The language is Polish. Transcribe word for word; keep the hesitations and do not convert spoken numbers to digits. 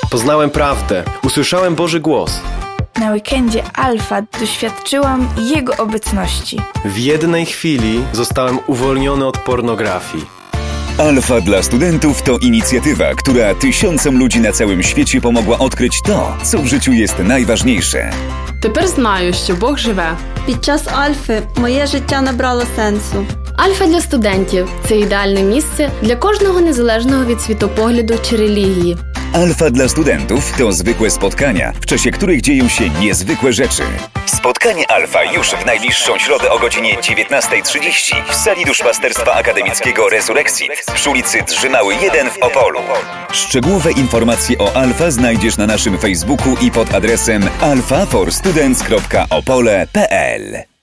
Poznałem prawdę. Usłyszałem Boży głos. Na weekendzie Alfa doświadczyłam Jego obecności. W jednej chwili zostałem uwolniony od pornografii. Alfa dla studentów to inicjatywa, która tysiącom ludzi na całym świecie pomogła odkryć to, co w życiu jest najważniejsze. Тепер знаю, що Бог живе. Під час Альфи моє життя набрало сенсу. Альфа для студентів – це ідеальне місце для кожного незалежного від світопогляду чи релігії. Alfa dla studentów to zwykłe spotkania, w czasie których dzieją się niezwykłe rzeczy. Spotkanie Alfa już w najbliższą środę o godzinie dziewiętnasta trzydzieści w sali duszpasterstwa akademickiego Resurrexit przy ulicy Drzymały jeden w Opolu. Szczegółowe informacje o Alfa znajdziesz na naszym Facebooku i pod adresem alfa for students kropka opole kropka p l.